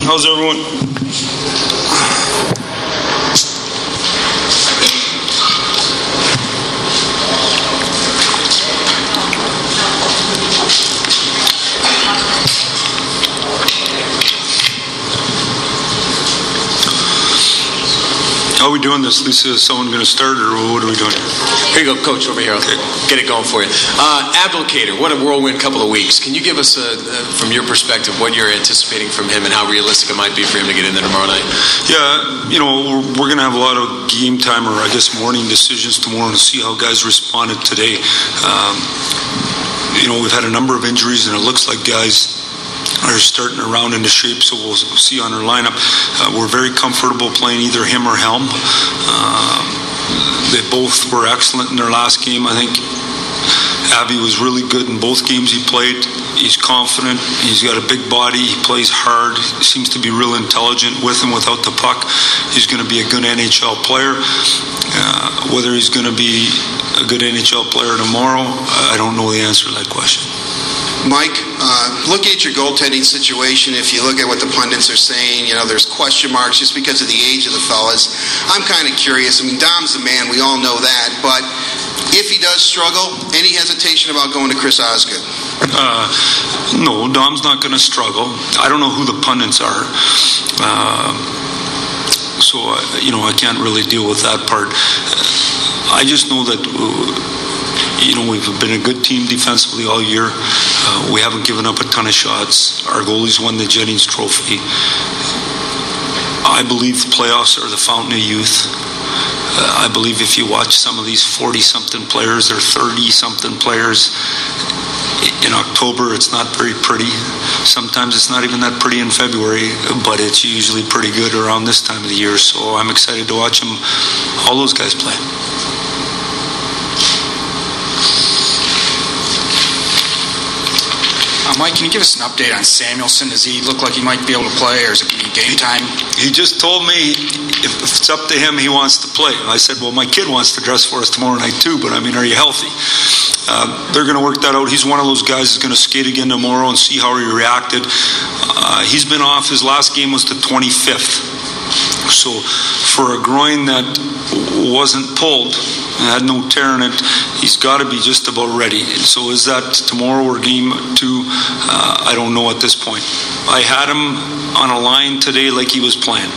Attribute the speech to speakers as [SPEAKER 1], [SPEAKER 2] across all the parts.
[SPEAKER 1] How's everyone? How are we doing this, Lisa? Is someone going to start, or what are we doing?
[SPEAKER 2] Here you go, Coach, over here. Okay. Get it going for you. Abdelkader, what a whirlwind couple of weeks. Can you give us, from your perspective, what you're anticipating from him and how realistic it might be for him to get in there tomorrow night?
[SPEAKER 1] Yeah, we're going to have a lot of game time, or I guess morning decisions tomorrow, to see how guys responded today. We've had a number of injuries, and it looks like guys are starting to round into shape, so we'll see on our lineup. We're very comfortable playing either him or Helm. They both were excellent in their last game. I think Abby was really good in both games he played. He's confident. He's got a big body. He plays hard. He seems to be real intelligent with and without the puck. He's going to be a good NHL player. Whether he's going to be a good NHL player tomorrow, I don't know the answer to that question.
[SPEAKER 3] Mike, looking at your goaltending situation, if you look at what the pundits are saying, there's question marks just because of the age of the fellas. I'm kind of curious. I mean, Dom's the man. We all know that. But if he does struggle, any hesitation about going to Chris Osgood?
[SPEAKER 1] No, Dom's not going to struggle. I don't know who the pundits are. So, I can't really deal with that part. I just know that we've been a good team defensively all year. We haven't given up a ton of shots. Our goalies won the Jennings Trophy. I believe the playoffs are the fountain of youth. I believe if you watch some of these 40-something players or 30-something players in October, it's not very pretty. Sometimes it's not even that pretty in February, but it's usually pretty good around this time of the year. So I'm excited to watch all those guys play.
[SPEAKER 4] Mike, can you give us an update on Samuelson? Does he look like he might be able to play, or is it game time?
[SPEAKER 1] He just told me if it's up to him, he wants to play. I said, well, my kid wants to dress for us tomorrow night too, but are you healthy? They're going to work that out. He's one of those guys who's going to skate again tomorrow and see how he reacted. He's been off. His last game was the 25th. So for a groin that wasn't pulled, had no tear in it, he's got to be just about ready. So is that tomorrow or game 2? I don't know at this point. I had him on a line today like he was playing.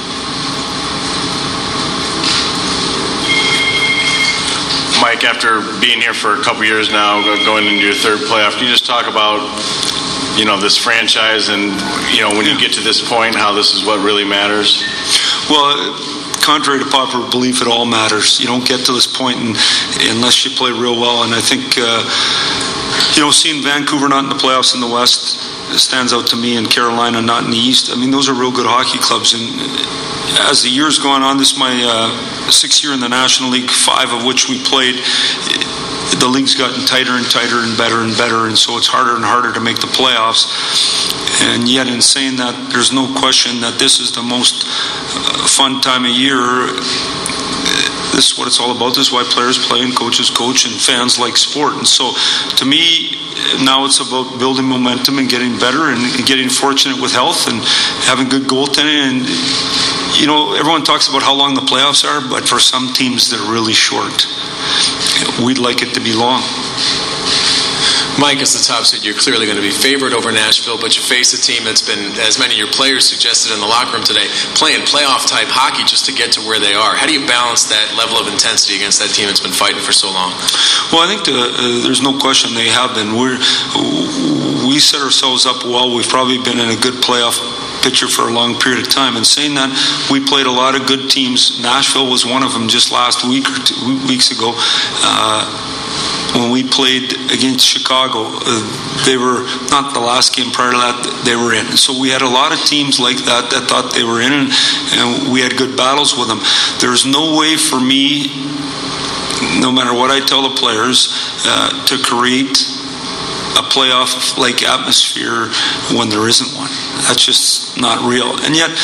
[SPEAKER 5] Mike, after being here for a couple years now, going into your third playoff, can you just talk about this franchise and when you get to this point, how this is what really matters?
[SPEAKER 1] Well, contrary to popular belief, it all matters. You don't get to this point unless you play real well. And I think, seeing Vancouver not in the playoffs in the West stands out to me, and Carolina not in the East. Those are real good hockey clubs. And as the year's gone on, this is my 6th year in the National League, 5 of which we played. The league's gotten tighter and tighter and better, and so it's harder and harder to make the playoffs. And yet, in saying that, there's no question that this is the most fun time of year. This is what it's all about. This is why players play and coaches coach and fans like sport. And so, to me, now it's about building momentum and getting better and getting fortunate with health and having good goaltending. And everyone talks about how long the playoffs are, but for some teams, they're really short. We'd like it to be long.
[SPEAKER 2] Mike, as the top seed, you're clearly going to be favored over Nashville, but you face a team that's been, as many of your players suggested in the locker room today, playing playoff-type hockey just to get to where they are. How do you balance that level of intensity against that team that's been fighting for so long?
[SPEAKER 1] Well, I think there's no question they have been. We set ourselves up well. We've probably been in a good playoff picture for a long period of time. And saying that, we played a lot of good teams. Nashville was one of them just last week or 2 weeks ago. When we played against Chicago, they were not the last game prior to that they were in. So we had a lot of teams like that thought they were in, and we had good battles with them. There's no way for me, no matter what I tell the players, to create a playoff-like atmosphere when there isn't one. That's just not real. And yet,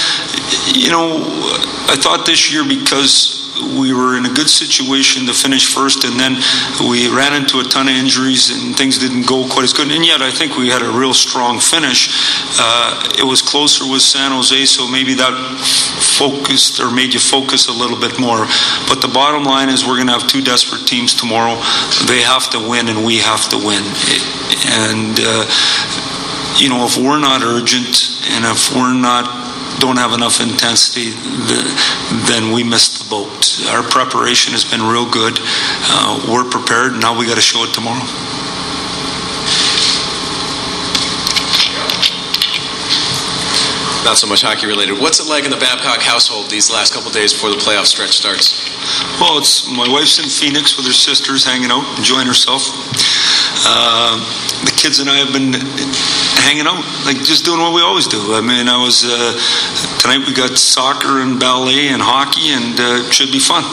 [SPEAKER 1] I thought this year, because we were in a good situation to finish first, and then we ran into a ton of injuries and things didn't go quite as good, and yet I think we had a real strong finish. It was closer with San Jose, so maybe that focused or made you focus a little bit more. But the bottom line is, we're going to have two desperate teams tomorrow. They have to win and we have to win. And if we're not urgent, and if we're don't have enough intensity, then we missed the boat. Our preparation has been real good. We're prepared. Now we got to show it tomorrow.
[SPEAKER 2] Not so much hockey related. What's it like in the Babcock household these last couple days before the playoff stretch starts?
[SPEAKER 1] Well, my wife's in Phoenix with her sisters, hanging out, enjoying herself. The kids and I have been hanging out, just doing what we always do. I mean, tonight we got soccer and ballet and hockey, and it should be fun.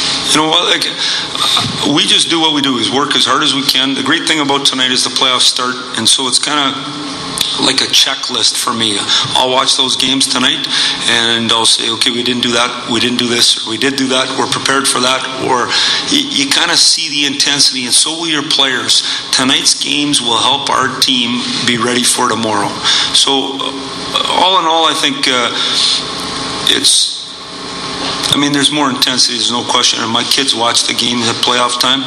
[SPEAKER 1] We just do what we do, is work as hard as we can. The great thing about tonight is the playoffs start, and so it's kind of like a checklist for me. I'll watch those games tonight and I'll say, okay, we didn't do that, we didn't do this, or we did do that, we're prepared for that. Or you kind of see the intensity, and so will your players. Tonight's games will help our team be ready for tomorrow. So all in all, I think there's more intensity, there's no question. And my kids watch the games at playoff time.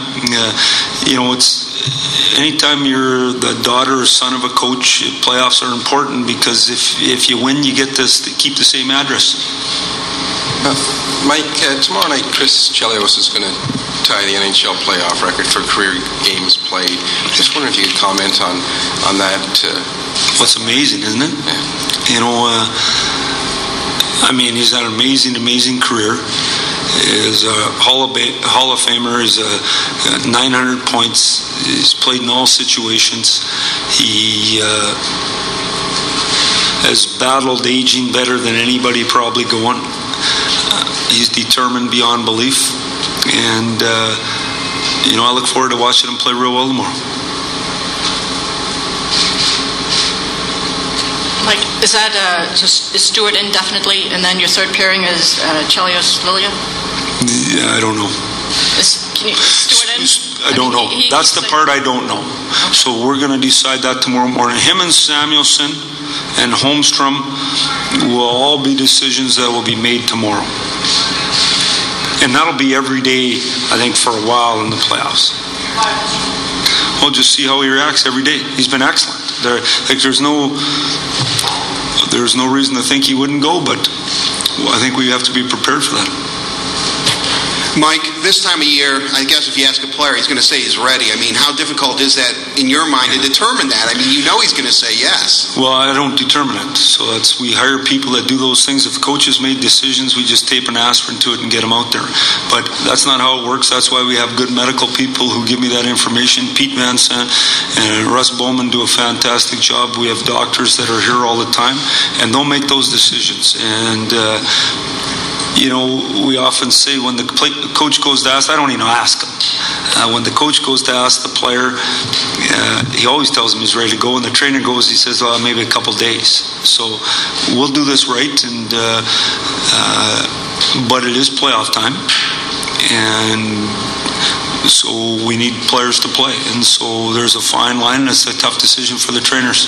[SPEAKER 1] It's anytime you're the daughter or son of a coach, playoffs are important, because if you win, you get to keep the same address.
[SPEAKER 6] Mike, tomorrow night, Chris Chelios is going to tie the NHL playoff record for career games played. Just wondering if you could comment on that.
[SPEAKER 1] What's amazing, isn't it? Yeah. He's had an amazing career. Is a Hall of Famer. He's 900 points. He's played in all situations. He has battled aging better than anybody probably going. He's determined beyond belief, and I look forward to watching him play real well tomorrow.
[SPEAKER 7] Like, is that is Stewart indefinitely, and then your third pairing is Chelios Lilia?
[SPEAKER 1] Yeah, I don't know.
[SPEAKER 7] Is Stewart in?
[SPEAKER 1] I don't know. That's the part I don't know. Okay. So we're going to decide that tomorrow morning. Him and Samuelsson and Holmstrom will all be decisions that will be made tomorrow. And that'll be every day, I think, for a while in the playoffs. We'll just see how he reacts every day. He's been excellent. There's no reason to think he wouldn't go, but I think we have to be prepared for that.
[SPEAKER 3] Mike, this time of year, I guess if you ask a player, he's going to say he's ready. How difficult is that in your mind to determine that? He's going to say yes.
[SPEAKER 1] Well, I don't determine it. So we hire people that do those things. If coaches made decisions, we just tape an aspirin to it and get them out there. But that's not how it works. That's why we have good medical people who give me that information. Pete Van Sant and Russ Bowman do a fantastic job. We have doctors that are here all the time, and they'll make those decisions. And we often say when the coach goes to ask, I don't even ask him. When the coach goes to ask the player, he always tells him he's ready to go. When the trainer goes, he says, well, maybe a couple days. So we'll do this right, but it is playoff time. And so we need players to play. And so there's a fine line, and it's a tough decision for the trainers.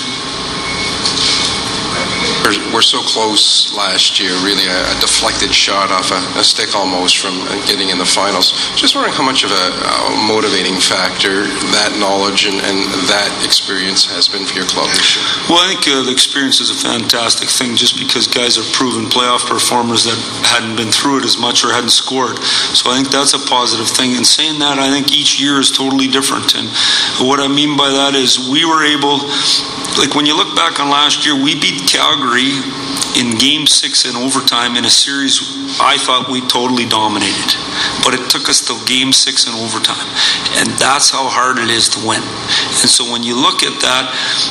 [SPEAKER 6] We're so close last year, really a deflected shot off a stick almost from getting in the finals. Just wondering how much of a motivating factor that knowledge and that experience has been for your club this year.
[SPEAKER 1] Well, I think the experience is a fantastic thing, just because guys are proven playoff performers that hadn't been through it as much or hadn't scored. So I think that's a positive thing. And saying that, I think each year is totally different. And what I mean by that is we were able... when you look back on last year, we beat Calgary in Game 6 in overtime in a series I thought we totally dominated. But it took us to Game 6 in overtime. And that's how hard it is to win. And so when you look at that,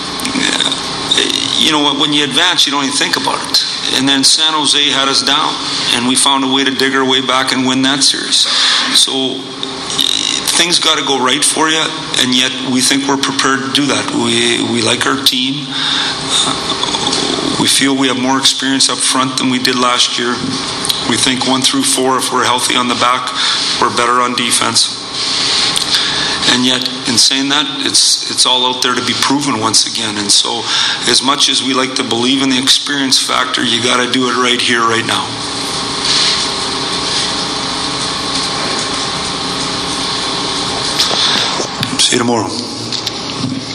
[SPEAKER 1] when you advance, you don't even think about it. And then San Jose had us down, and we found a way to dig our way back and win that series. So things got to go right for you, and yet we think we're prepared to do that. We like our team. We feel we have more experience up front than we did last year. We think 1 through 4, if we're healthy on the back, we're better on defense. And yet, in saying that, it's all out there to be proven once again. And so, as much as we like to believe in the experience factor, you got to do it right here, right now. See you tomorrow.